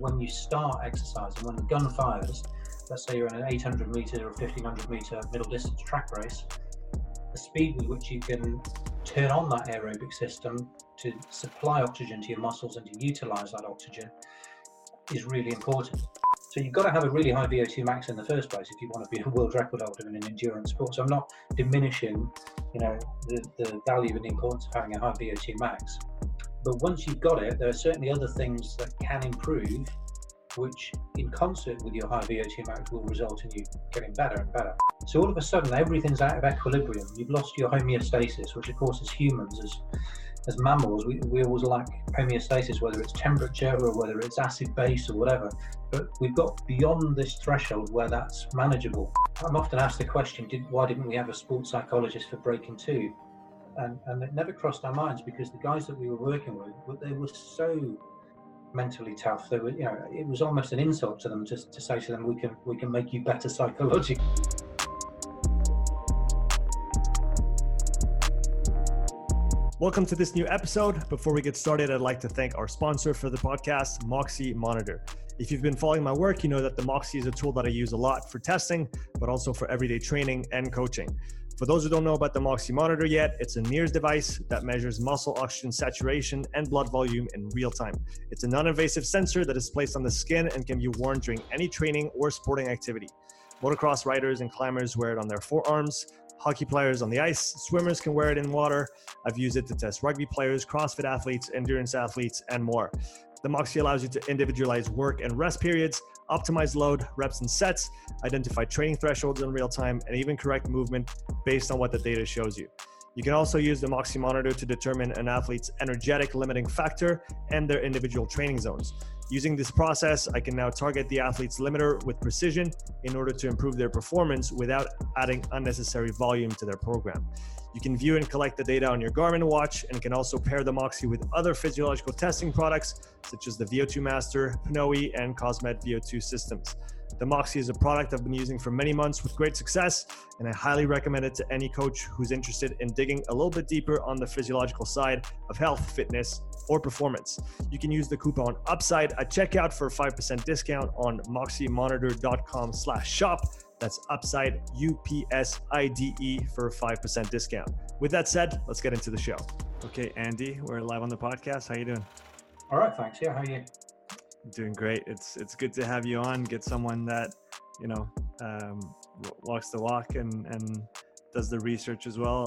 when you start exercising, when the gun fires, let's say you're in an 800 meter or 1500 meter middle distance track race, the speed with which you can turn on that aerobic system to supply oxygen to your muscles and to utilize that oxygen is really important. So you've got to have a really high VO2 max in the first place if you want to be a world record holder in an endurance sport. So I'm not diminishing, the value and the importance of having a high VO2 max. But once you've got it, there are certainly other things that can improve, which in concert with your high VO2 max will result in you getting better and better. So all of a sudden, everything's out of equilibrium. You've lost your homeostasis, which of course as humans, as mammals, we always lack homeostasis, whether it's temperature or whether it's acid base or whatever. But we've got beyond this threshold where that's manageable. I'm often asked the question, why didn't we have a sports psychologist for Breaking 2? And it never crossed our minds, because the guys that we were working with, they were so mentally tough. They were, it was almost an insult to them just to say to them, we can make you better psychologically. Welcome to this new episode. Before we get started, I'd like to thank our sponsor for the podcast, Moxy Monitor. If you've been following my work, you know that the Moxy is a tool that I use a lot for testing, but also for everyday training and coaching. For those who don't know about the Moxy Monitor yet, it's a NIRS device that measures muscle oxygen saturation and blood volume in real time. It's a non-invasive sensor that is placed on the skin and can be worn during any training or sporting activity. Motocross riders and climbers wear it on their forearms. Hockey players on the ice, swimmers can wear it in water. I've used it to test rugby players, CrossFit athletes, endurance athletes, and more. The Moxy allows you to individualize work and rest periods, optimize load, reps and sets, identify training thresholds in real time, and even correct movement based on what the data shows you. You can also use the Moxy Monitor to determine an athlete's energetic limiting factor and their individual training zones. Using this process, I can now target the athlete's limiter with precision in order to improve their performance without adding unnecessary volume to their program. You can view and collect the data on your Garmin watch and can also pair the Moxy with other physiological testing products such as the VO2 Master, Pnoe, and Cosmed VO2 systems. The Moxy is a product I've been using for many months with great success, and I highly recommend it to any coach who's interested in digging a little bit deeper on the physiological side of health, fitness, or performance. You can use the coupon UPSIDE at checkout for a 5% discount on moxymonitor.com/shop. That's UPSIDE, UPSIDE, for a 5% discount. With that said, let's get into the show. Okay, Andy, we're live on the podcast. How you doing? All right, thanks. Yeah, how are you? Doing great. It's good to have you on. Get someone that walks the walk and does the research as well.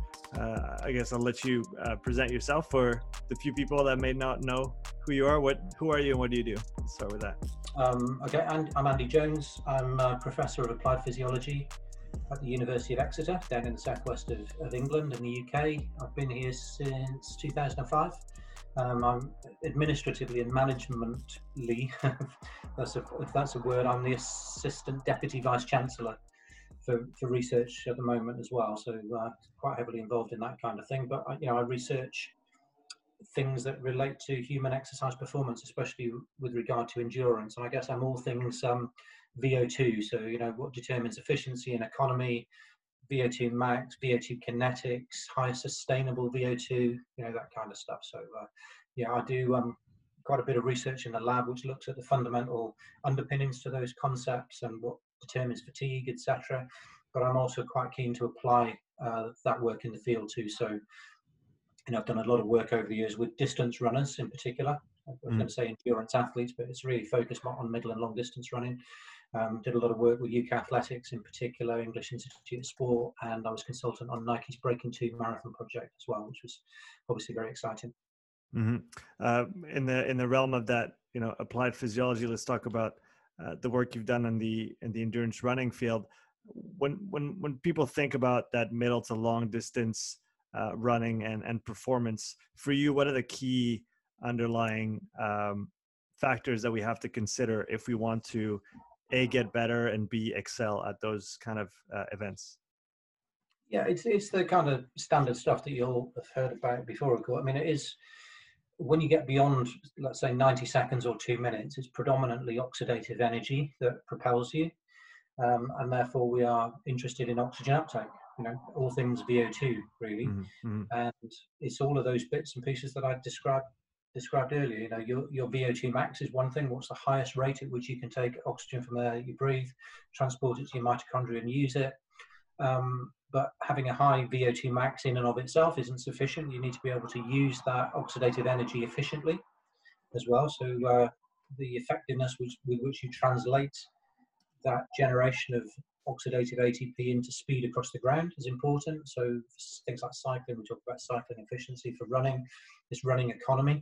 I guess I'll let you present yourself for the few people that may not know who you are. Who are you and what do you do? Let's start with that. Okay, I'm Andy Jones. I'm a professor of applied physiology at the University of Exeter, down in the southwest of England in the UK. I've been here since 2005. I'm administratively and managementally, if that's a word, I'm the Assistant Deputy Vice Chancellor for research at the moment as well. So quite heavily involved in that kind of thing. But I research things that relate to human exercise performance, especially with regard to endurance. And I guess I'm all things VO2. So what determines efficiency and economy, VO2 max, VO2 kinetics, high sustainable VO2, that kind of stuff. So I do quite a bit of research in the lab, which looks at the fundamental underpinnings to those concepts and what determines fatigue, etc. But I'm also quite keen to apply that work in the field too. So I've done a lot of work over the years with distance runners in particular. I was going to say endurance athletes, but it's really focused on middle and long distance running. Did a lot of work with UK Athletics in particular, English Institute of Sport, and I was consultant on Nike's Breaking 2 marathon project as well, which was obviously very exciting. Mm-hmm. In the realm of that, applied physiology, let's talk about the work you've done in the endurance running field. When people think about that middle to long distance running and performance, for you, what are the key underlying factors that we have to consider if we want to A, get better, and B, excel at those kind of events? Yeah, it's the kind of standard stuff that you'll have heard about before, of course. I mean, it is, when you get beyond, let's say, 90 seconds or 2 minutes, it's predominantly oxidative energy that propels you. And therefore, we are interested in oxygen uptake, all things VO2, really. Mm-hmm. And it's all of those bits and pieces that I described described earlier, your VO2 max is one thing. What's the highest rate at which you can take oxygen from the air you breathe, transport it to your mitochondria and use it? But having a high VO2 max in and of itself isn't sufficient. You need to be able to use that oxidative energy efficiently as well. So the effectiveness with which you translate that generation of oxidative ATP into speed across the ground is important. So things like cycling, we talk about cycling efficiency. For running, it's running economy.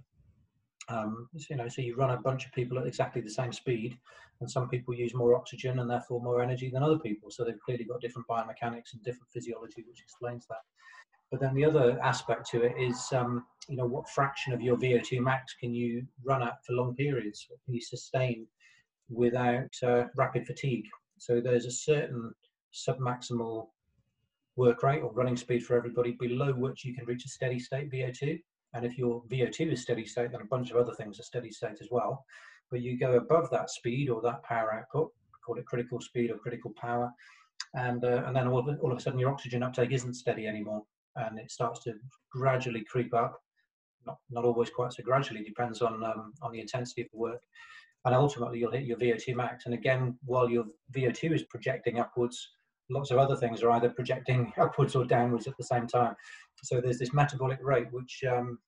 So you run a bunch of people at exactly the same speed, and some people use more oxygen and therefore more energy than other people. So they've clearly got different biomechanics and different physiology, which explains that. But then the other aspect to it is, what fraction of your VO2 max can you run at for long periods? What can you sustain without rapid fatigue? So there's a certain submaximal work rate or running speed for everybody below which you can reach a steady state VO2. And if your VO2 is steady state, then a bunch of other things are steady state as well. But you go above that speed or that power output, call it critical speed or critical power, and then all of a sudden your oxygen uptake isn't steady anymore, and it starts to gradually creep up. Not always quite so gradually, depends on the intensity of the work. And ultimately you'll hit your VO2 max. And again, while your VO2 is projecting upwards, lots of other things are either projecting upwards or downwards at the same time. So there's this metabolic rate, which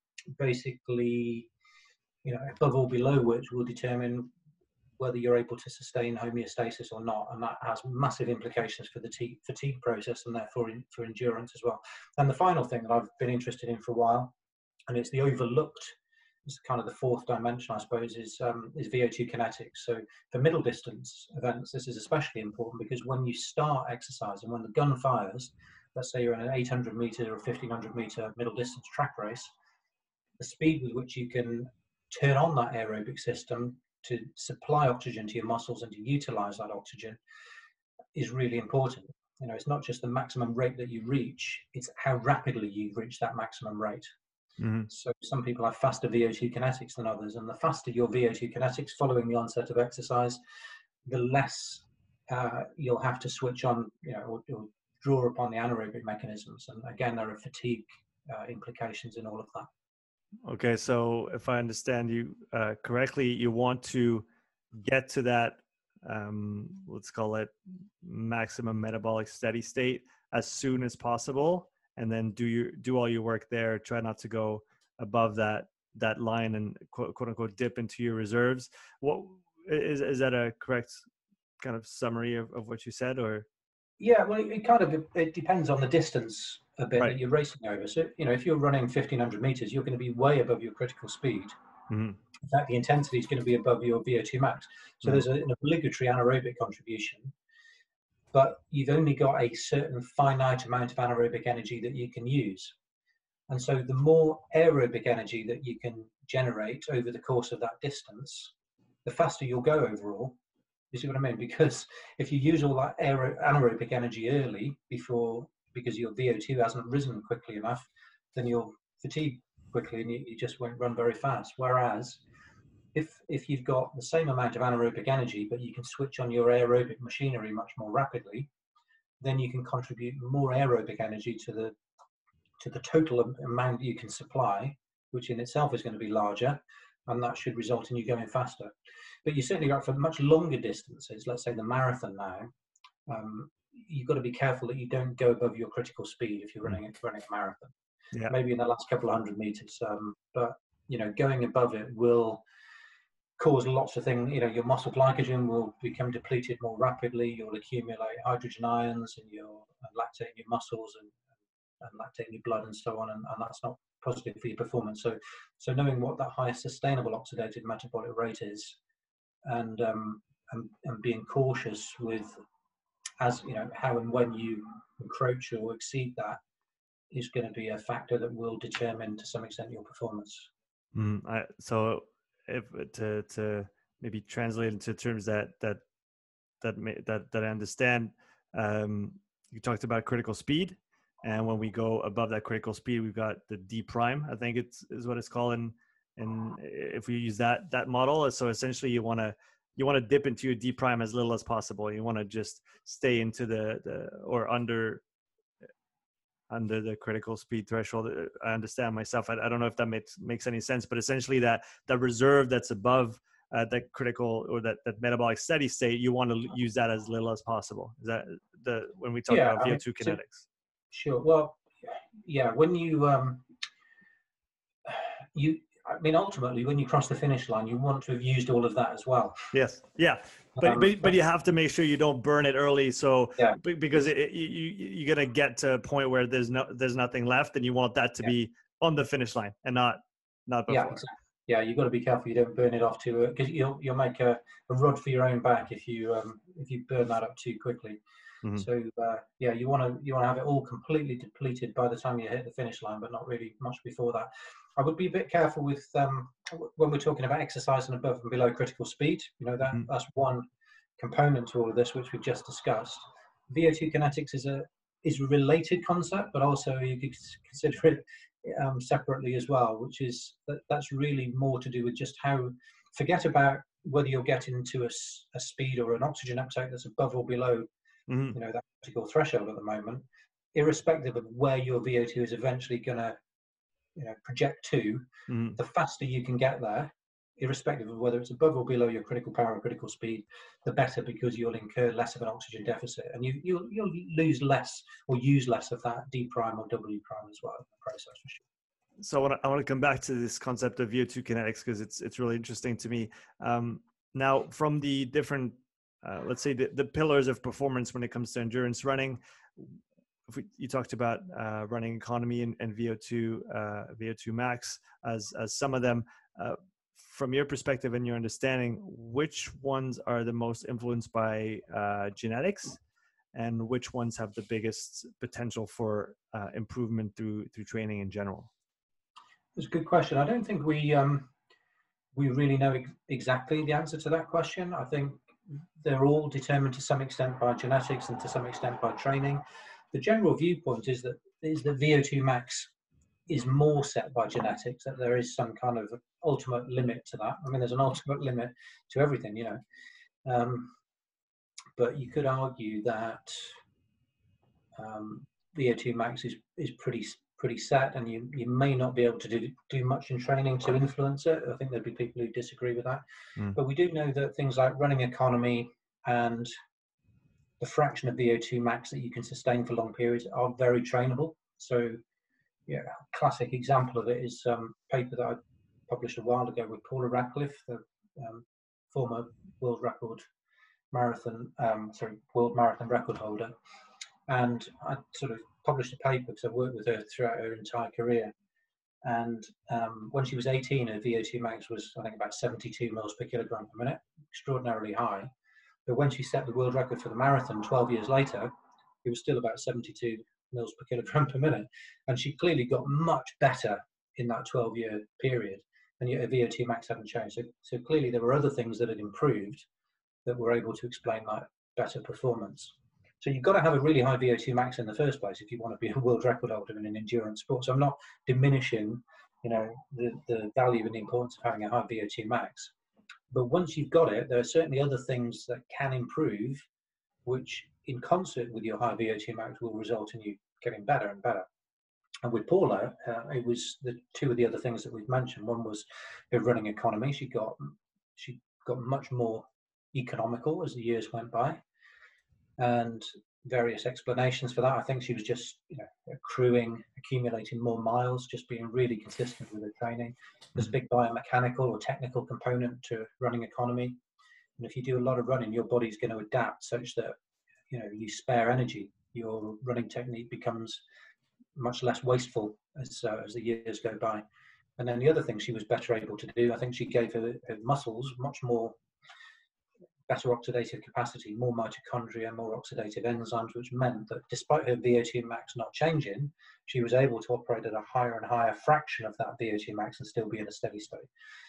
basically, above or below which will determine whether you're able to sustain homeostasis or not. And that has massive implications for the fatigue process and therefore for endurance as well. And the final thing that I've been interested in for a while, and it's the overlooked, it's kind of the fourth dimension, I suppose, is VO2 kinetics. So for middle distance events, this is especially important because when you start exercising, when the gun fires, let's say you're in an 800 meter or 1500 meter middle distance track race, the speed with which you can turn on that aerobic system to supply oxygen to your muscles and to utilize that oxygen is really important. It's not just the maximum rate that you reach, it's how rapidly you reach that maximum rate. Mm-hmm. So some people have faster VO2 kinetics than others, and the faster your VO2 kinetics following the onset of exercise, the less you'll have to switch on, or draw upon the anaerobic mechanisms. And again, there are fatigue implications in all of that. Okay, so if I understand you correctly, you want to get to that, let's call it maximum metabolic steady state as soon as possible, and then do all your work there. Try not to go above that line and quote unquote dip into your reserves. What is that a correct kind of summary of what you said, or? Yeah, well, it depends on the distance a bit that you're racing over. So, if you're running 1500 meters, you're going to be way above your critical speed. Mm-hmm. In fact, the intensity is going to be above your VO2 max. So there's an obligatory anaerobic contribution, but you've only got a certain finite amount of anaerobic energy that you can use. And so the more aerobic energy that you can generate over the course of that distance, the faster you'll go overall. You see what I mean? Because if you use all that anaerobic energy early because your VO2 hasn't risen quickly enough, then you'll fatigue quickly and you just won't run very fast. Whereas if you've got the same amount of anaerobic energy, but you can switch on your aerobic machinery much more rapidly, then you can contribute more aerobic energy to the total amount you can supply, which in itself is going to be larger, and that should result in you going faster. But you certainly got for much longer distances, let's say the marathon now, you've got to be careful that you don't go above your critical speed if you're running a marathon. Yeah. Maybe in the last couple of 100 meters, but going above it will cause lots of things. Your muscle glycogen will become depleted more rapidly. You'll accumulate hydrogen ions and lactate in your muscles and lactate in your blood and so on, and that's not positive for your performance. So knowing what that highest sustainable oxidative metabolic rate is, and being cautious with how and when you encroach or exceed that is going to be a factor that will determine to some extent your performance. So if to maybe translate into terms that I understand, you talked about critical speed, and when we go above that critical speed, we've got the D prime, I think is what it's called, and if we use that model, so essentially you want to dip into your D prime as little as possible. You want to just stay into the or under under the critical speed threshold. I understand myself. I don't know if that makes any sense, but essentially that reserve that's above that critical or that metabolic steady state, you want to use that as little as possible. Is that when we talk about VO2 kinetics? Sure. Well, yeah, when ultimately, when you cross the finish line, you want to have used all of that as well. Yes. Yeah. But you have to make sure you don't burn it early. So because you're going to get to a point where there's nothing left, and you want that to be on the finish line and not before. Yeah, exactly. Yeah, you've got to be careful you don't burn it off too, because you'll make a rod for your own back if you burn that up too quickly. Mm-hmm. So you want to have it all completely depleted by the time you hit the finish line, but not really much before that. I would be a bit careful with when we're talking about exercising above and below critical speed. That's one component to all of this, which we've just discussed. VO2 kinetics is a related concept, but also you could consider it separately as well, which is that's really more to do with just how, forget about whether you're getting to a speed or an oxygen uptake that's above or below that critical threshold at the moment. Irrespective of where your VO2 is eventually going to project to, the faster you can get there, irrespective of whether it's above or below your critical power or critical speed, the better, because you'll incur less of an oxygen deficit, and you'll lose less or use less of that D prime or W prime as well in the process, for sure. So I want to come back to this concept of VO2 kinetics, because it's really interesting to me. Now, from the different, let's say the pillars of performance when it comes to endurance running, you talked about running economy and VO2 max as some of them. From your perspective and your understanding, which ones are the most influenced by genetics, and which ones have the biggest potential for improvement through training in general? That's a good question. I don't think we really know exactly the answer to that question. I think they're all determined to some extent by genetics and to some extent by training. The general viewpoint is that VO2 max is more set by genetics, that there is some kind of ultimate limit to that. I mean, there's an ultimate limit to everything, but you could argue that VO2 max is pretty set, and you may not be able to do much in training to influence it. I think there'd be people who disagree with that. But we do know that things like running economy and the fraction of VO2 max that you can sustain for long periods are very trainable. So a classic example of it is a paper that I published a while ago with Paula Radcliffe, the former world marathon record holder. And I sort of published a paper because I worked with her throughout her entire career. And when she was 18, her VO2 max was, I think, about 72 mils per kilogram per minute, extraordinarily high. But when she set the world record for the marathon 12 years later, it was still about 72 mils per kilogram per minute. And she clearly got much better in that 12-year period, and yet her VO2 max hadn't changed. So clearly there were other things that had improved that were able to explain that better performance. So you've got to have a really high VO2 max in the first place if you want to be a world record holder in an endurance sport. So I'm not diminishing, the value and the importance of having a high VO2 max. But once you've got it, there are certainly other things that can improve, which in concert with your high VO2 max will result in you getting better and better. And with Paula, it was the two of the other things that we've mentioned. One was her running economy. She got much more economical as the years went by, and various explanations for that. I think she was just accumulating more miles, just being really consistent with her training. There's a big biomechanical or technical component to running economy, and if you do a lot of running, your body's going to adapt such that you spare energy. Your running technique becomes much less wasteful as the years go by. And then the other thing she was better able to do, I think she gave her muscles much more better oxidative capacity, more mitochondria, more oxidative enzymes, which meant that despite her VO2 max not changing, she was able to operate at a higher and higher fraction of that VO2 max and still be in a steady state.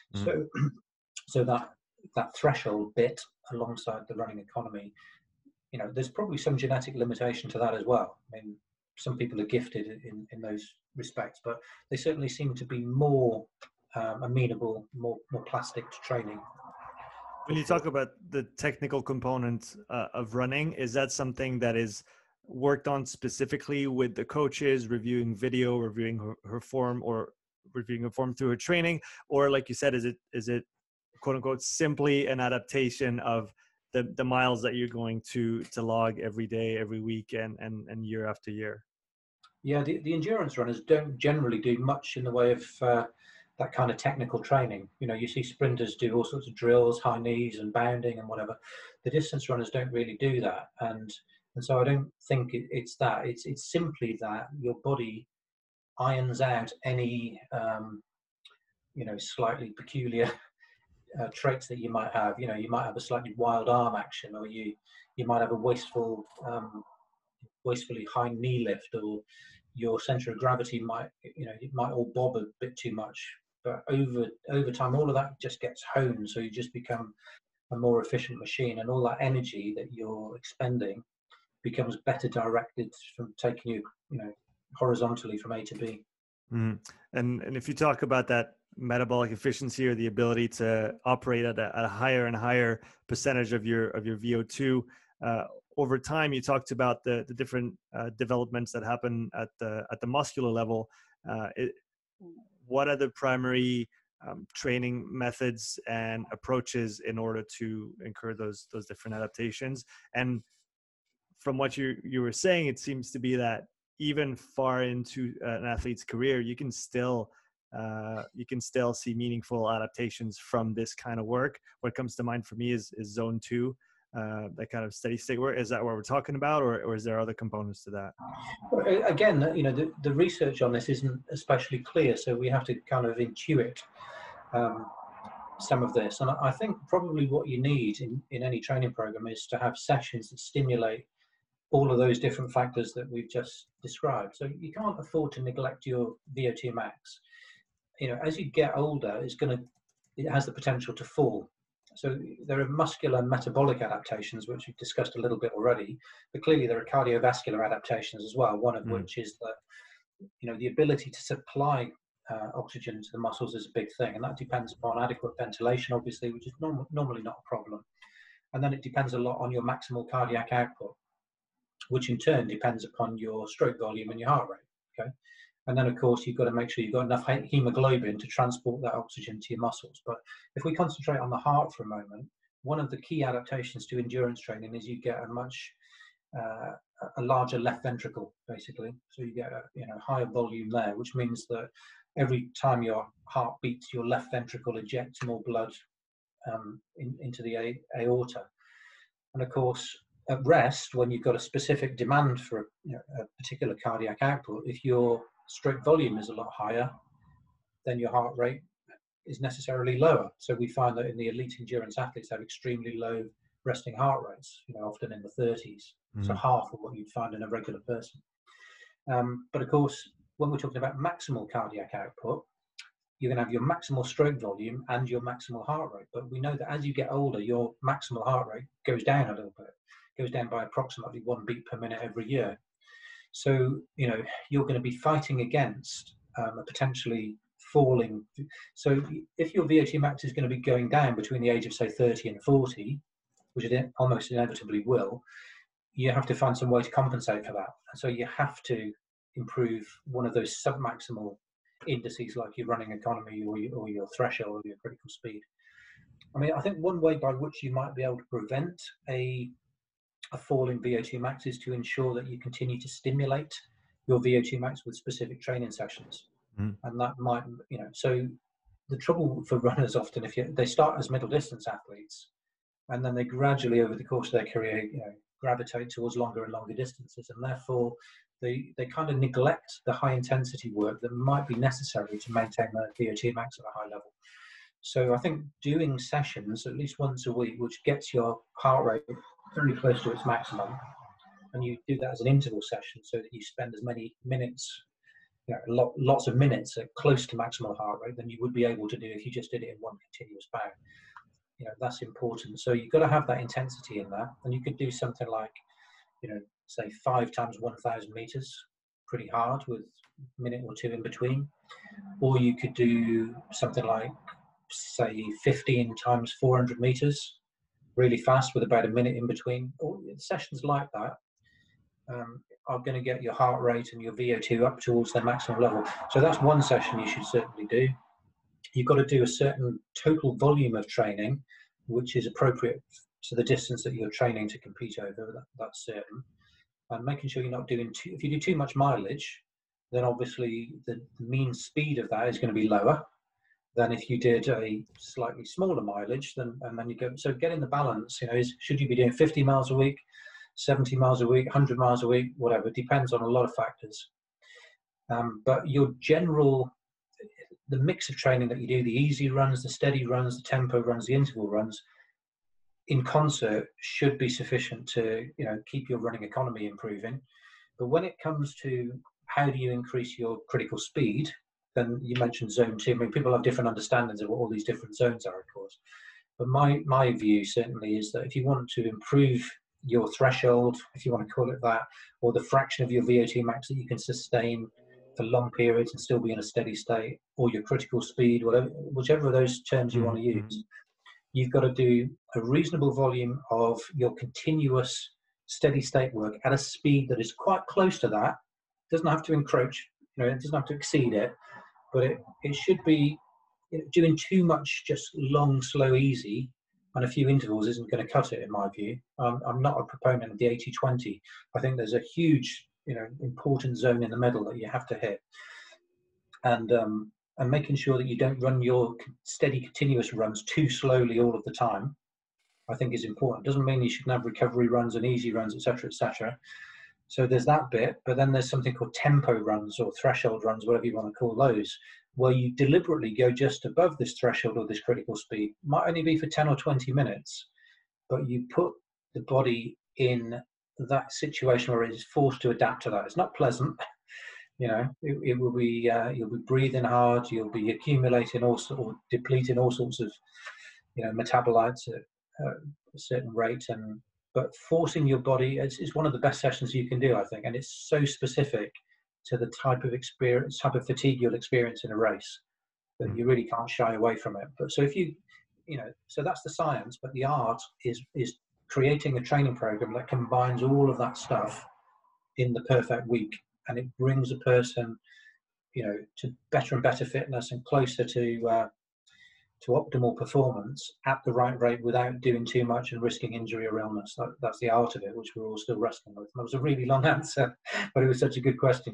So that threshold bit alongside the running economy, there's probably some genetic limitation to that as well. I mean, some people are gifted in those respects, but they certainly seem to be more amenable, more plastic to training. When you talk about the technical component of running, is that something that is worked on specifically with the coaches, reviewing video, reviewing her form, or reviewing her form through her training? Or like you said, is it quote unquote simply an adaptation of the miles that you're going to log every day, every week, and year after year? Yeah, the endurance runners don't generally do much in the way of that kind of technical training. You know, you see sprinters do all sorts of drills, high knees and bounding and whatever. The distance runners don't really do that, and so I don't think it's that. It's simply that your body irons out any slightly peculiar traits that you might have. You know, you might have a slightly wild arm action, or you might have a wastefully high knee lift, or your center of gravity might, it might all bob a bit too much. But over time, all of that just gets honed, so you just become a more efficient machine, and all that energy that you're expending becomes better directed from taking you, horizontally from A to B. Mm. And if you talk about that metabolic efficiency, or the ability to operate at a higher and higher percentage of your VO2 over time, you talked about the different developments that happen at the muscular level. What are the primary training methods and approaches in order to incur those different adaptations? And from what you were saying, it seems to be that even far into an athlete's career, you can still see meaningful adaptations from this kind of work. What comes to mind for me is zone 2, that kind of steady state work. Is that what we're talking about, or is there other components to that? Again, the research on this isn't especially clear, so we have to kind of intuit some of this. And I think probably what you need in any training program is to have sessions that stimulate all of those different factors that we've just described. So you can't afford to neglect your VO2 max. As you get older, it has the potential to fall. So there are muscular metabolic adaptations, which we've discussed a little bit already, but clearly there are cardiovascular adaptations as well, one of which is that, the ability to supply oxygen to the muscles is a big thing, and that depends upon adequate ventilation, obviously, which is normally not a problem. And then it depends a lot on your maximal cardiac output, which in turn depends upon your stroke volume and your heart rate. Okay. And then, of course, you've got to make sure you've got enough hemoglobin to transport that oxygen to your muscles. But if we concentrate on the heart for a moment, one of the key adaptations to endurance training is you get a larger left ventricle, basically. So you get a higher volume there, which means that every time your heart beats, your left ventricle ejects more blood into the aorta. And of course, at rest, when you've got a specific demand for a particular cardiac output, if your stroke volume is a lot higher, then your heart rate is necessarily lower. So we find that in the elite endurance athletes have extremely low resting heart rates, often in the 30s. So half of what you'd find in a regular person. But of course, when we're talking about maximal cardiac output, you're going to have your maximal stroke volume and your maximal heart rate. But we know that as you get older, your maximal heart rate goes down a little bit. Goes down by approximately 1 beat per minute every year. So, you're going to be fighting against a potentially falling. So if your VO2 max is going to be going down between the age of, say, 30 and 40, which it almost inevitably will, you have to find some way to compensate for that. And so you have to improve one of those submaximal indices, like your running economy or your threshold or your critical speed. I mean, I think one way by which you might be able to prevent a fall in VO2 max is to ensure that you continue to stimulate your VO2 max with specific training sessions. And that might, so the trouble for runners often, they start as middle distance athletes, and then they gradually over the course of their career, gravitate towards longer and longer distances, and therefore they kind of neglect the high intensity work that might be necessary to maintain their VO2 max at a high level. So I think doing sessions at least once a week, which gets your heart rate very close to its maximum, and you do that as an interval session so that you spend as many minutes, lots of minutes at close to maximal heart rate than you would be able to do if you just did it in one continuous bout. That's important. So you've got to have that intensity in there, and you could do something like, say 5 times 1,000 meters, pretty hard with a minute or two in between, or you could do something like, say, 15 times 400 meters, really fast with about a minute in between, or sessions like that. are going to get your heart rate and your VO2 up towards their maximum level. So that's one session you should certainly do. You've got to do a certain total volume of training, which is appropriate to the distance that you're training to compete over. That's certain. And making sure you're not doing too, if you do too much mileage, then obviously the mean speed of that is going to be lower than if you did a slightly smaller mileage. And then you go, so getting the balance, should you be doing 50 miles a week, 70 miles a week, 100 miles a week, whatever, depends on a lot of factors. But the mix of training that you do, the easy runs, the steady runs, the tempo runs, the interval runs, in concert should be sufficient to keep your running economy improving. But when it comes to how do you increase your critical speed, then you mentioned zone 2. I mean, people have different understandings of what all these different zones are, of course. But my view certainly is that if you want to improve your threshold, if you want to call it that, or the fraction of your VO2 max that you can sustain for long periods and still be in a steady state, or your critical speed, whichever of those terms you want to use, you've got to do a reasonable volume of your continuous steady state work at a speed that is quite close to that. It doesn't have to encroach, it doesn't have to exceed it, but it should be, doing too much just long, slow, easy and a few intervals isn't going to cut it, in my view. I'm not a proponent of the 80-20. I think there's a huge, important zone in the middle that you have to hit. And making sure that you don't run your steady, continuous runs too slowly all of the time, I think is important. Doesn't mean you shouldn't have recovery runs and easy runs, etc., etc. So there's that bit, but then there's something called tempo runs or threshold runs, whatever you want to call those, where you deliberately go just above this threshold or this critical speed. Might only be for 10 or 20 minutes, but you put the body in that situation where it is forced to adapt to that. It's not pleasant. It will be, you'll be breathing hard, you'll be accumulating or depleting all sorts of, metabolites at a certain rate. But forcing your body is one of the best sessions you can do, I think. And it's so specific to the type of fatigue you'll experience in a race that you really can't shy away from it. But so if so that's the science, but the art is creating a training program that combines all of that stuff in the perfect week. And it brings a person, to better and better fitness and closer to optimal performance at the right rate without doing too much and risking injury or illness. That's the art of it, which we're all still wrestling with. That was a really long answer, but it was such a good question.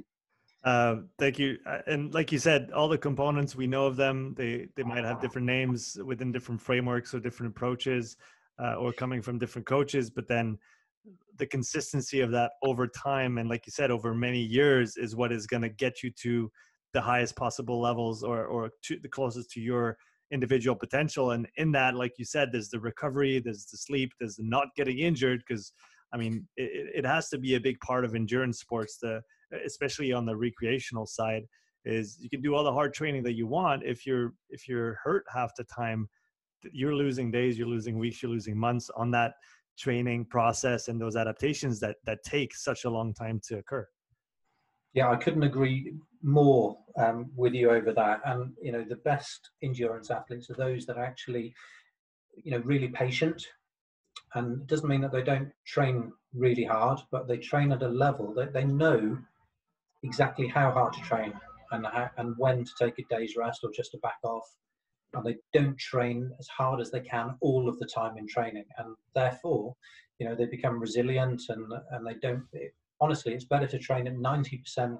Thank you. And like you said, all the components, we know of them. They might have different names within different frameworks or different approaches, or coming from different coaches, but then the consistency of that over time, and like you said, over many years, is what is going to get you to the highest possible levels or to the closest to your individual potential. And in that, like you said, there's the recovery, there's the sleep, there's the not getting injured, because I mean, it has to be a big part of endurance sports, especially on the recreational side. Is you can do all the hard training that you want. If you're hurt half the time, you're losing days, you're losing weeks, you're losing months on that training process and those adaptations that take such a long time to occur. Yeah, I couldn't agree more with you over that. And the best endurance athletes are those that are actually really patient. And it doesn't mean that they don't train really hard, but they train at a level that they know exactly how hard to train and when to take a day's rest or just to back off. And they don't train as hard as they can all of the time in training. And therefore, they become resilient and they don't, honestly, it's better to train at 90%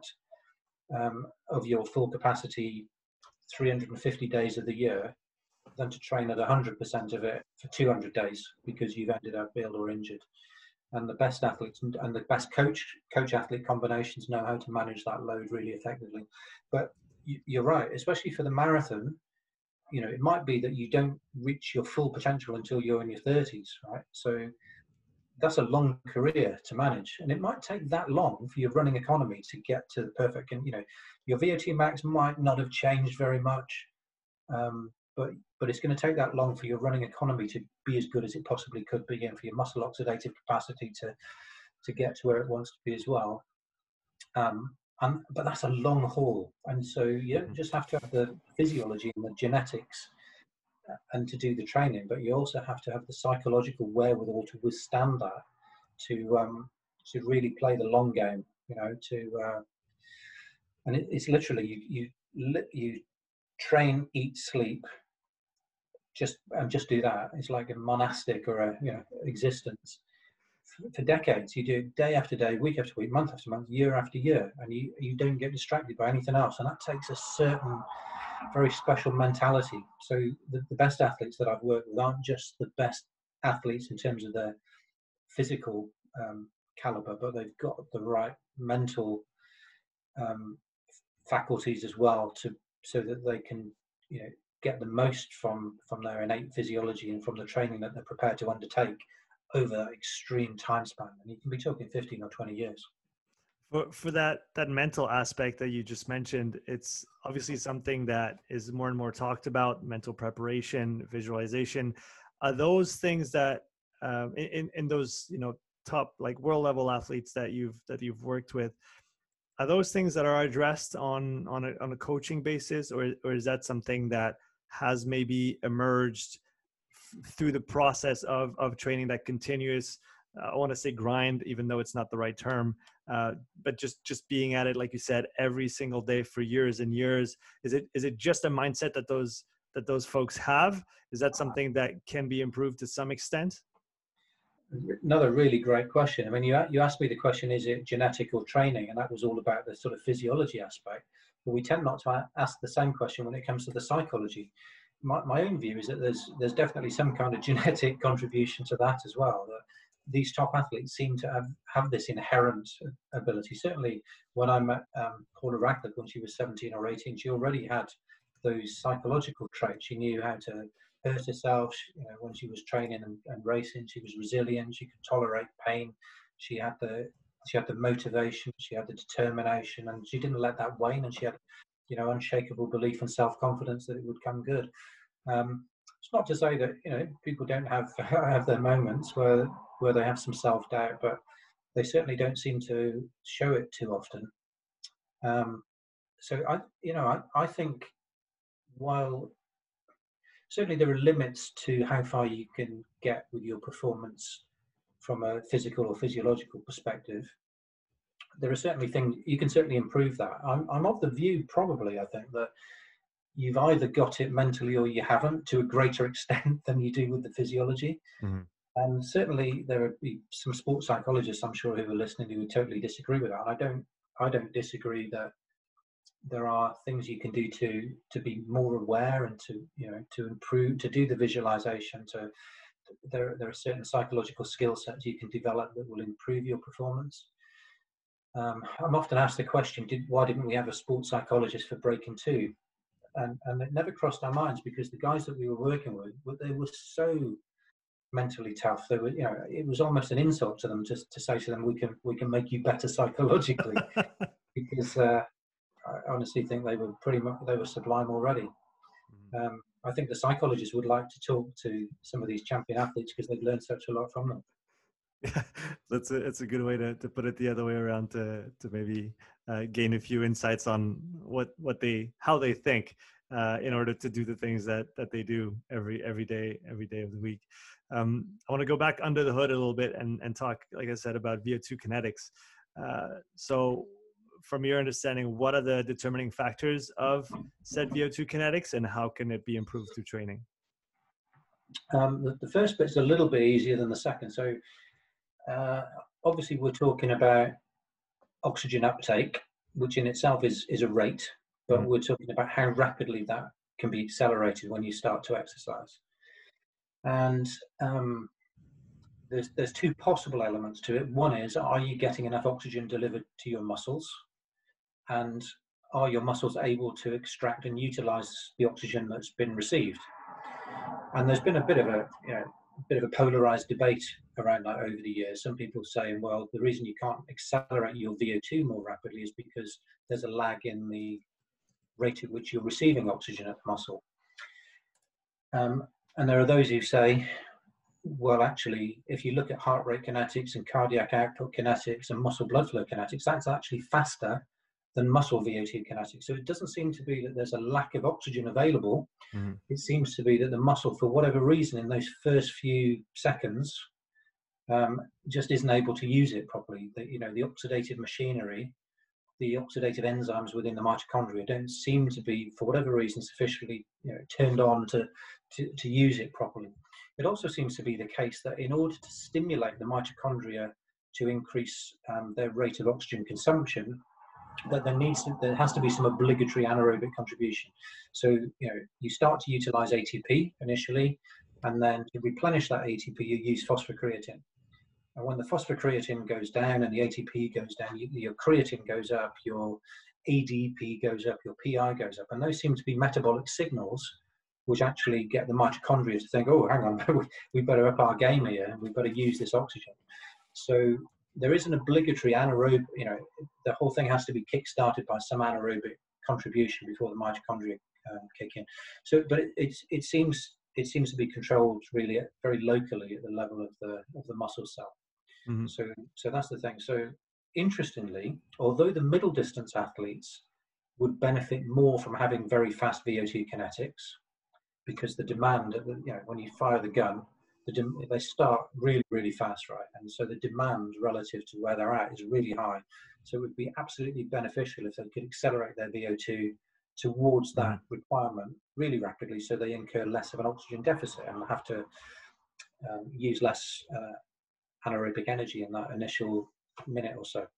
of your full capacity 350 days of the year than to train at 100% of it for 200 days because you've ended up ill or injured. And the best athletes and the best coach-athlete combinations know how to manage that load really effectively. But you're right, especially for the marathon, it might be that you don't reach your full potential until you're in your 30s, right? So that's a long career to manage, and it might take that long for your running economy to get to the perfect. And your VO2 max might not have changed very much, but it's going to take that long for your running economy to be as good as it possibly could be, and for your muscle oxidative capacity to get to where it wants to be as well. But that's a long haul, and so you don't just have to have the physiology and the genetics and to do the training, but you also have to have the psychological wherewithal to withstand that, really play the long game, and it's literally you train, eat, sleep, just do that. It's like a monastic or a existence for decades. You do it day after day, week after week, month after month, year after year, and you don't get distracted by anything else. And that takes a certain very special mentality. So the best athletes that I've worked with aren't just the best athletes in terms of their physical caliber, but they've got the right mental faculties as well, so that they can get the most from their innate physiology and from the training that they're prepared to undertake over that extreme time span. And you can be talking 15 or 20 years. For that mental aspect that you just mentioned, it's obviously something that is more and more talked about: mental preparation, visualization. Are those things that in those top like world level athletes that you've worked with, are those things that are addressed on a coaching basis, or is that something that has maybe emerged through the process of training, that continuous, I want to say grind, even though it's not the right term, but just being at it, like you said, every single day for years and years? Is it just a mindset that those folks have? Is that something that can be improved to some extent? Another really great question. I mean, you asked me the question, is it genetic or training? And that was all about the sort of physiology aspect. But we tend not to ask the same question when it comes to the psychology. My own view is that there's definitely some kind of genetic contribution to that as well. That these top athletes seem to have this inherent ability. Certainly, when I met Paula Radcliffe when she was 17 or 18, she already had those psychological traits. She knew how to hurt herself. When she was training and racing, she was resilient. She could tolerate pain. She had the motivation. She had the determination, and she didn't let that wane. And she had unshakable belief and self-confidence that it would come good. It's not to say that people don't have their moments where they have some self-doubt, but they certainly don't seem to show it too often. So I think, while certainly there are limits to how far you can get with your performance from a physical or physiological perspective, there are certainly things you can certainly improve that. I'm of the view, probably, I think, that you've either got it mentally or you haven't, to a greater extent than you do with the physiology. Mm-hmm. And certainly there would be some sports psychologists, I'm sure, who are listening, who would totally disagree with that. And I don't disagree that there are things you can do to be more aware and to improve, to do the visualization. There are certain psychological skill sets you can develop that will improve your performance. I'm often asked the question, why didn't we have a sports psychologist for Breaking 2? And it never crossed our minds, because the guys that we were working with, they were so mentally tough. They were, it was almost an insult to them just to say to them, we can make you better psychologically, because I honestly think they were sublime already. I think the psychologists would like to talk to some of these champion athletes, because they've learned such a lot from them. Yeah, it's a good way to put it the other way around, to maybe gain a few insights on how they think in order to do the things that they do every day of the week. I want to go back under the hood a little bit and talk, like I said, about VO2 kinetics. So from your understanding, what are the determining factors of said VO2 kinetics, and how can it be improved through training? The first bit's a little bit easier than the second. So obviously we're talking about oxygen uptake, which in itself is a rate, but we're talking about how rapidly that can be accelerated when you start to exercise. And there's two possible elements to it. One is, are you getting enough oxygen delivered to your muscles, and are your muscles able to extract and utilize the oxygen that's been received? And there's been a bit of a polarized debate around that over the years. Some people saying, well, the reason you can't accelerate your VO2 more rapidly is because there's a lag in the rate at which you're receiving oxygen at the muscle. And there are those who say, well, actually, if you look at heart rate kinetics and cardiac output kinetics and muscle blood flow kinetics, that's actually faster than muscle VO2 kinetics. So it doesn't seem to be that there's a lack of oxygen available. It seems to be that the muscle, for whatever reason, in those first few seconds, just isn't able to use it properly. The oxidative machinery, the oxidative enzymes within the mitochondria don't seem to be, for whatever reason, sufficiently turned on to use it properly. It also seems to be the case that in order to stimulate the mitochondria to increase their rate of oxygen consumption, that there has to be some obligatory anaerobic contribution. So you start to utilize ATP initially, and then to replenish that ATP, you use phosphocreatine. And when the phosphocreatine goes down and the ATP goes down, your creatine goes up, your ADP goes up, your PI goes up. And those seem to be metabolic signals which actually get the mitochondria to think, oh, hang on, we better up our game here, and we've got to use this oxygen. So there is an obligatory anaerobic, the whole thing has to be kick-started by some anaerobic contribution before the mitochondria kick in. So, but it seems to be controlled really very locally at the level of the muscle cell. Mm-hmm. So that's the thing. So interestingly, although the middle distance athletes would benefit more from having very fast VO2 kinetics, because the demand, when you fire the gun, they start really, really fast, right? And so the demand relative to where they're at is really high. So it would be absolutely beneficial if they could accelerate their VO2 towards that requirement really rapidly, so they incur less of an oxygen deficit and have to use less anaerobic energy in that initial minute or so.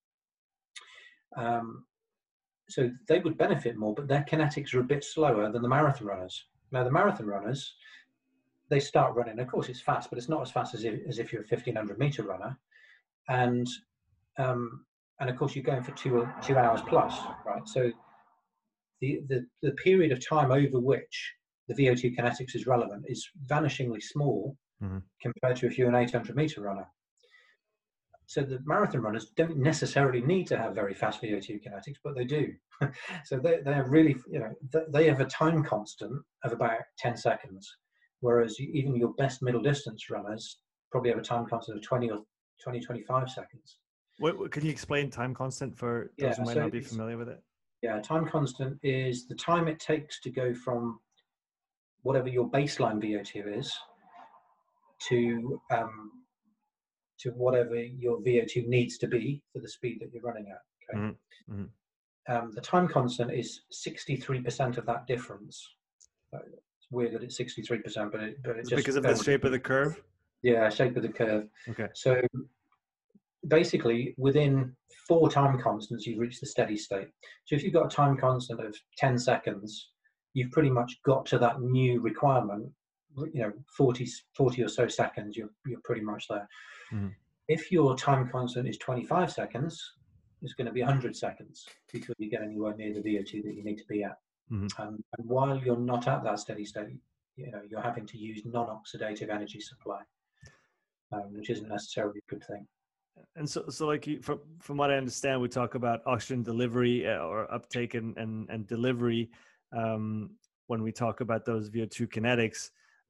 So they would benefit more, but their kinetics are a bit slower than the marathon runners. Now, the marathon runners, they start running. Of course, it's fast, but it's not as fast as if you're a 1,500 meter runner. And of course, you're going for 2 hours plus, right? So the period of time over which the VO2 kinetics is relevant is vanishingly small compared to if you're an 800 meter runner. So the marathon runners don't necessarily need to have very fast VO2 kinetics, but they do. So they're really, they have a time constant of about 10 seconds, whereas even your best middle distance runners probably have a time constant of 25 seconds. What can you explain time constant for those who might not be familiar with it? Yeah, time constant is the time it takes to go from whatever your baseline VO2 is to whatever your VO2 needs to be for the speed that you're running at. Okay. Mm-hmm. The time constant is 63% of that difference. It's weird that it's 63%, but it just because of the shape of the curve. Yeah, shape of the curve. Okay. So basically, within 4 time constants, you've reached the steady state. So if you've got a time constant of 10 seconds, you've pretty much got to that new requirement. 40 or so seconds, you're pretty much there. Mm-hmm. If your time constant is 25 seconds, it's going to be 100 seconds before you get anywhere near the VO2 that you need to be at. Mm-hmm. And while you're not at that steady state, you're having to use non-oxidative energy supply, which isn't necessarily a good thing. And so like from what I understand, we talk about oxygen delivery or uptake and delivery when we talk about those VO2 kinetics.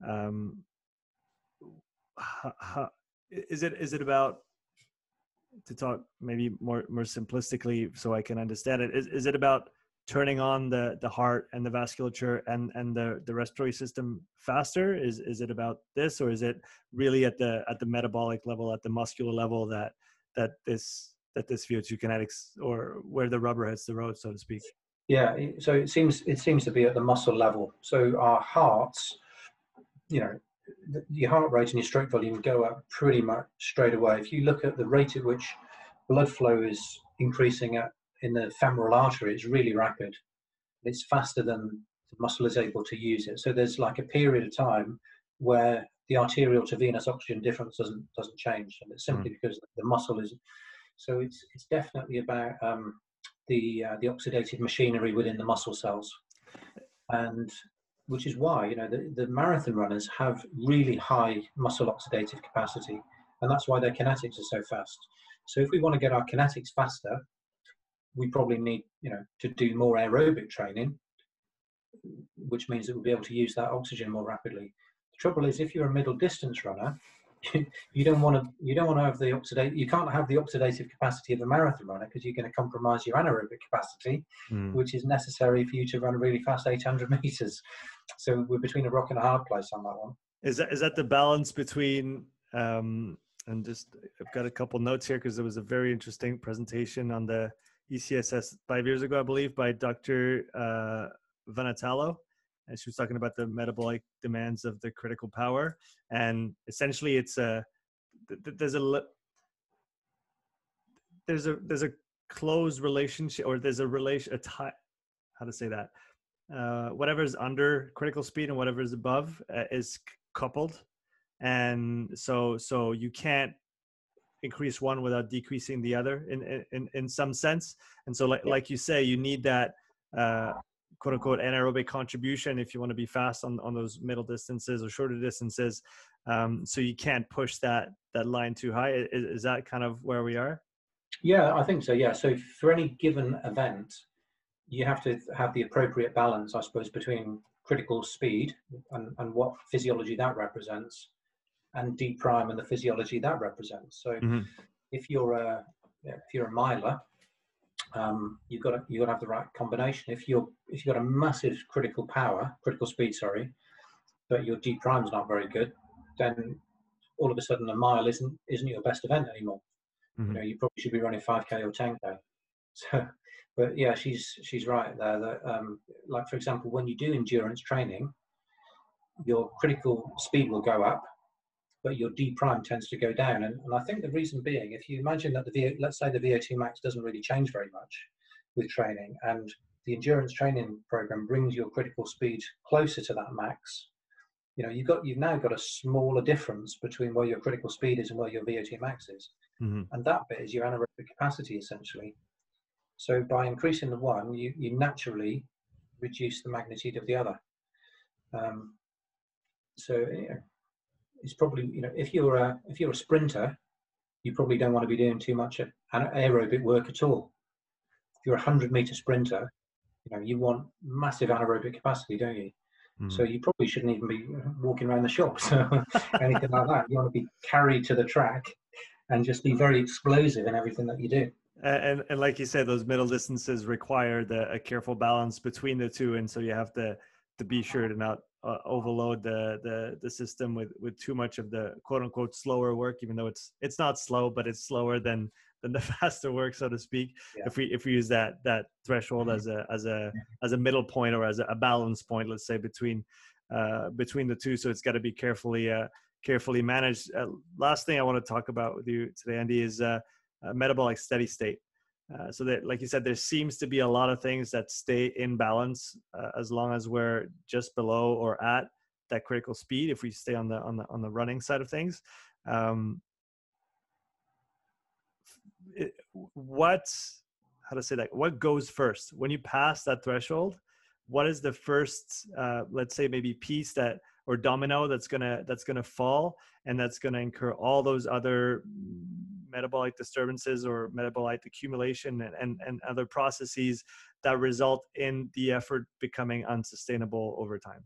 Is it about, to talk maybe more simplistically so I can understand it, is it about turning on the heart and the vasculature and the respiratory system faster? Is it about this, or is it really at the metabolic level, at the muscular level that this VO2 kinetics, or where the rubber hits the road, so to speak? Yeah, so it seems to be at the muscle level. So our hearts, your heart rate and your stroke volume go up pretty much straight away. If you look at the rate at which blood flow is increasing in the femoral artery, it's really rapid. It's faster than the muscle is able to use it. So there's like a period of time where the arterial to venous oxygen difference doesn't change, and it's simply because the muscle is. So it's definitely about the oxidative machinery within the muscle cells, and which is why the marathon runners have really high muscle oxidative capacity, and that's why their kinetics are so fast. So if we want to get our kinetics faster, we probably need to do more aerobic training, which means that we'll be able to use that oxygen more rapidly. The trouble is, if you're a middle distance runner, you don't want to have the you can't have the oxidative capacity of a marathon runner, because you're going to compromise your anaerobic capacity, which is necessary for you to run a really fast 800 meters. So we're between a rock and a hard place on that one. Is that the balance between And just, I've got a couple notes here because there was a very interesting presentation on the ECSS 5 years ago, I believe, by Dr. Vanatalo. And she was talking about the metabolic demands of the critical power. And essentially it's there's a close relationship, or there's how to say that? Whatever's under critical speed and whatever's above is coupled. And so you can't increase one without decreasing the other in some sense. And so like you say, you need that quote unquote anaerobic contribution if you want to be fast on those middle distances or shorter distances. So you can't push that line too high. Is that kind of where we are? Yeah, I think so. Yeah. So for any given event, you have to have the appropriate balance, I suppose, between critical speed and what physiology that represents, and D prime and the physiology that represents. So if you're a miler, you've got to have the right combination. If you've got a massive critical speed, but your D prime is not very good, then all of a sudden a mile isn't your best event anymore. You know, you probably should be running 5K or 10K. So, but yeah, she's right there. That like for example, when you do endurance training, your critical speed will go up, but your D prime tends to go down. And I think the reason being, if you imagine that let's say the VO2 max doesn't really change very much with training, and the endurance training program brings your critical speed closer to that max, you know, you've now got a smaller difference between where your critical speed is and where your VO2 max is. And that bit is your anaerobic capacity, essentially. So by increasing the one, you naturally reduce the magnitude of the other. So you know, it's probably, you know, if you're a sprinter, you probably don't want to be doing too much aerobic work at all. If you're a 100-meter sprinter, you know, you want massive anaerobic capacity, don't you? So you probably shouldn't even be walking around the shops or anything like that. You want to be carried to the track and just be very explosive in everything that you do. And like you said, those middle distances require a careful balance between the two, and so you have to be sure to not overload the system with too much of the quote unquote slower work, even though it's not slow, but it's slower than the faster work, so to speak. Yeah. If we use that threshold as a middle point, or as a balance point, let's say between the two. So it's got to be carefully managed. Last thing I want to talk about with you today, Andy, is metabolic steady state. So that, like you said, there seems to be a lot of things that stay in balance as long as we're just below or at that critical speed. If we stay on the running side of things, what goes first when you pass that threshold? What is the first, let's say maybe piece or domino that's gonna fall, and that's gonna incur all those other metabolic disturbances or metabolic accumulation and other processes that result in the effort becoming unsustainable over time?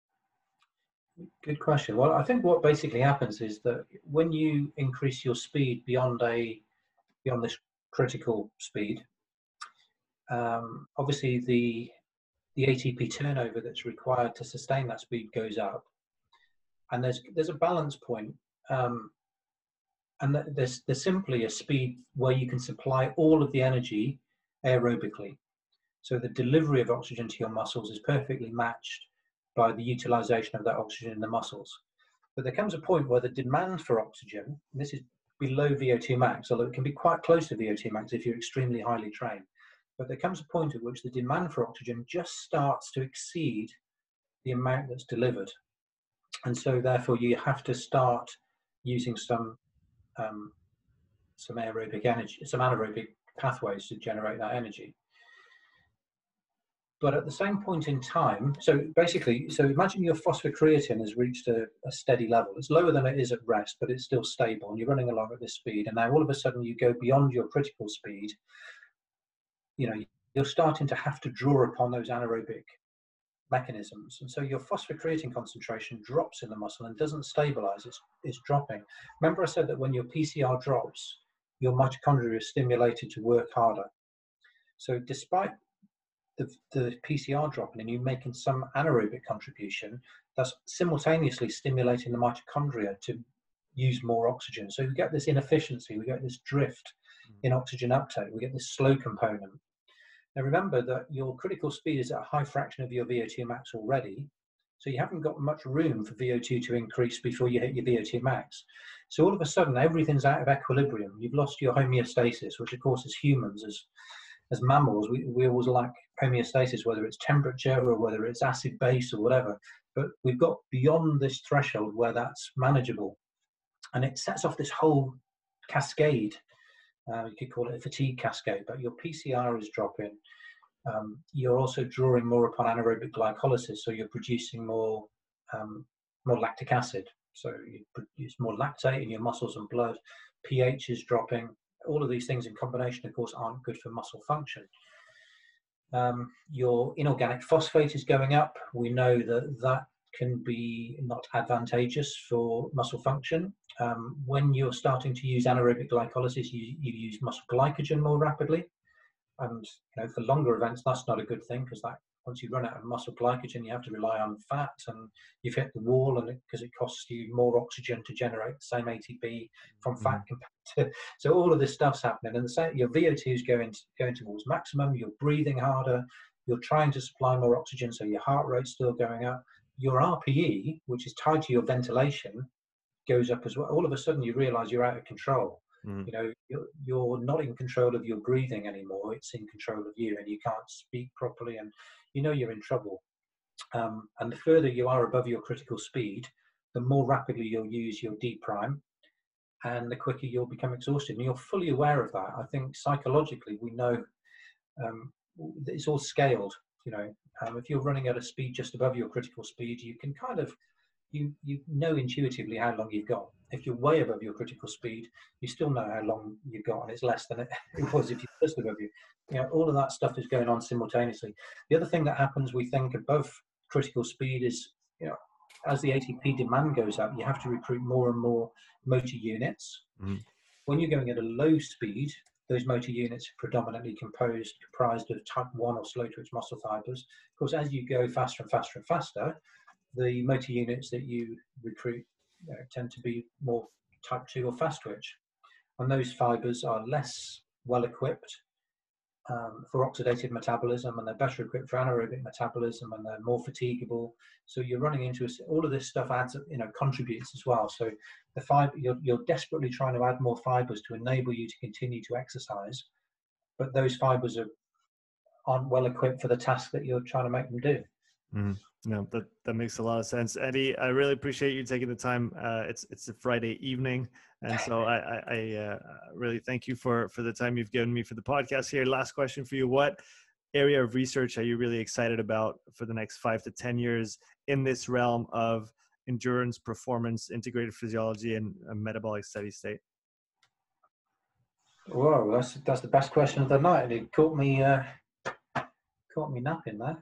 Good question. Well, I think what basically happens is that when you increase your speed beyond this critical speed, obviously the ATP turnover that's required to sustain that speed goes up, and there's a balance point, and there's simply a speed where you can supply all of the energy aerobically. So the delivery of oxygen to your muscles is perfectly matched by the utilization of that oxygen in the muscles. But there comes a point where the demand for oxygen, and this is below VO2 max, although it can be quite close to VO2 max if you're extremely highly trained. But there comes a point at which the demand for oxygen just starts to exceed the amount that's delivered. And so therefore you have to start using some aerobic energy, some anaerobic pathways to generate that energy. But at the same point in time, so imagine your phosphocreatine has reached a steady level. It's lower than it is at rest, but it's still stable, and you're running along at this speed. And now all of a sudden you go beyond your critical speed. You know, you're starting to have to draw upon those anaerobic mechanisms, and so your phosphocreatine concentration drops in the muscle and doesn't stabilize. It's dropping. Remember I said that when your PCR drops, your mitochondria is stimulated to work harder. So despite the PCR dropping and you making some anaerobic contribution, that's simultaneously stimulating the mitochondria to use more oxygen. So we get this inefficiency, we get this drift in oxygen uptake, we get this slow component. Now remember that your critical speed is at a high fraction of your VO2 max already, so you haven't got much room for VO2 to increase before you hit your VO2 max. So all of a sudden, everything's out of equilibrium. You've lost your homeostasis, which of course, as humans, as mammals, we always lack homeostasis, whether it's temperature or whether it's acid base or whatever. But we've got beyond this threshold where that's manageable. And it sets off this whole cascade. You could call it a fatigue cascade, but your PCR is dropping. You're also drawing more upon anaerobic glycolysis, so you're producing more lactic acid. So you produce more lactate in your muscles and blood. pH is dropping. All of these things in combination, of course, aren't good for muscle function. Your inorganic phosphate is going up. We know that can be not advantageous for muscle function. When you're starting to use anaerobic glycolysis, you use muscle glycogen more rapidly. And for longer events, that's not a good thing, because once you run out of muscle glycogen, you have to rely on fat, and you've hit the wall, and because it costs you more oxygen to generate the same ATP from fat compared to. So all of this stuff's happening, and your VO2 is going towards maximum. You're breathing harder. You're trying to supply more oxygen, so your heart rate's still going up. Your RPE, which is tied to your ventilation, goes up as well. All of a sudden, you realise you're out of control. You're not in control of your breathing anymore. It's in control of you, and you can't speak properly, and you're in trouble. And the further you are above your critical speed, the more rapidly you'll use your D prime, and the quicker you'll become exhausted. And you're fully aware of that. I think psychologically we know it's all scaled. If you're running at a speed just above your critical speed, you can kind of you know intuitively how long you've got. If you're way above your critical speed, you still know how long you've got, and it's less than it was if you're just above you. All of that stuff is going on simultaneously. The other thing that happens, we think, above critical speed is, as the ATP demand goes up, you have to recruit more and more motor units. When you're going at a low speed, those motor units are predominantly comprised of type 1 or slow-twitch muscle fibers. Of course, as you go faster and faster and faster, the motor units that you recruit tend to be more type 2 or fast twitch. And those fibers are less well equipped for oxidative metabolism, and they're better equipped for anaerobic metabolism, and they're more fatigable. So you're running into all of this stuff adds, contributes as well. So the fiber, you're desperately trying to add more fibers to enable you to continue to exercise, but those fibers aren't well equipped for the task that you're trying to make them do. No, that makes a lot of sense, Eddie. I really appreciate you taking the time. It's a Friday evening, and so I really thank you for the time you've given me for the podcast here. Last question for you: what area of research are you really excited about for the next 5 to 10 years in this realm of endurance, performance, integrated physiology, and metabolic steady state? Whoa, that's the best question of the night, and it caught me napping there.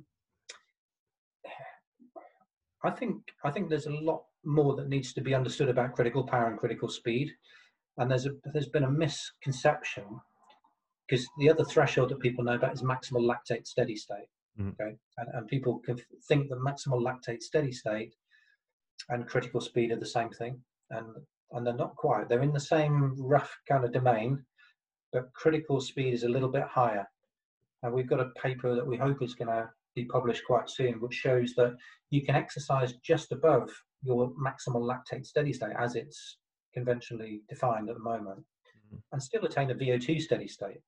I think there's a lot more that needs to be understood about critical power and critical speed, and there's been a misconception, because the other threshold that people know about is maximal lactate steady state. Okay, and people can think that maximal lactate steady state and critical speed are the same thing, and they're not quite. They're in the same rough kind of domain, but critical speed is a little bit higher. And we've got a paper that we hope is going to be published quite soon, which shows that you can exercise just above your maximal lactate steady state, as it's conventionally defined at the moment, and still attain a VO2 steady state.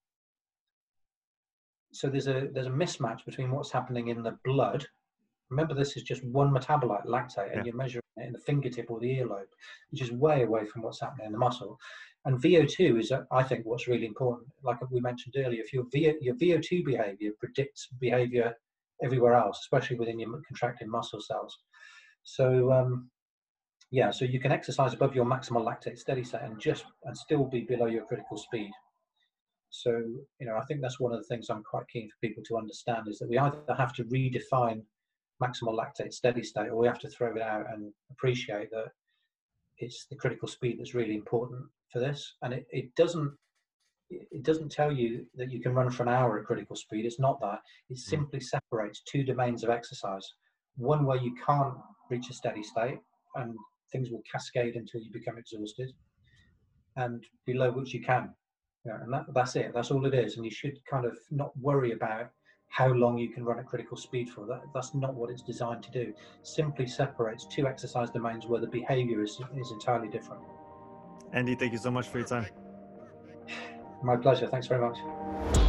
So there's a mismatch between what's happening in the blood. Remember, this is just one metabolite, lactate, and you're measuring it in the fingertip or the earlobe, which is way away from what's happening in the muscle. And VO2 is, I think, what's really important. Like we mentioned earlier, if your VO2 behavior predicts behavior everywhere else, especially within your contracting muscle cells. So so you can exercise above your maximal lactate steady state and still be below your critical speed. So I think that's one of the things I'm quite keen for people to understand, is that we either have to redefine maximal lactate steady state, or we have to throw it out and appreciate that it's the critical speed that's really important for this. And it doesn't tell you that you can run for an hour at critical speed. It's not that. It simply separates two domains of exercise. One where you can't reach a steady state, and things will cascade until you become exhausted, and below which you can. Yeah, and that's it. That's all it is. And you should kind of not worry about how long you can run at critical speed for. That's not what it's designed to do. Simply separates two exercise domains where the behavior is entirely different. Andy, thank you so much for your time. My pleasure. Thanks very much.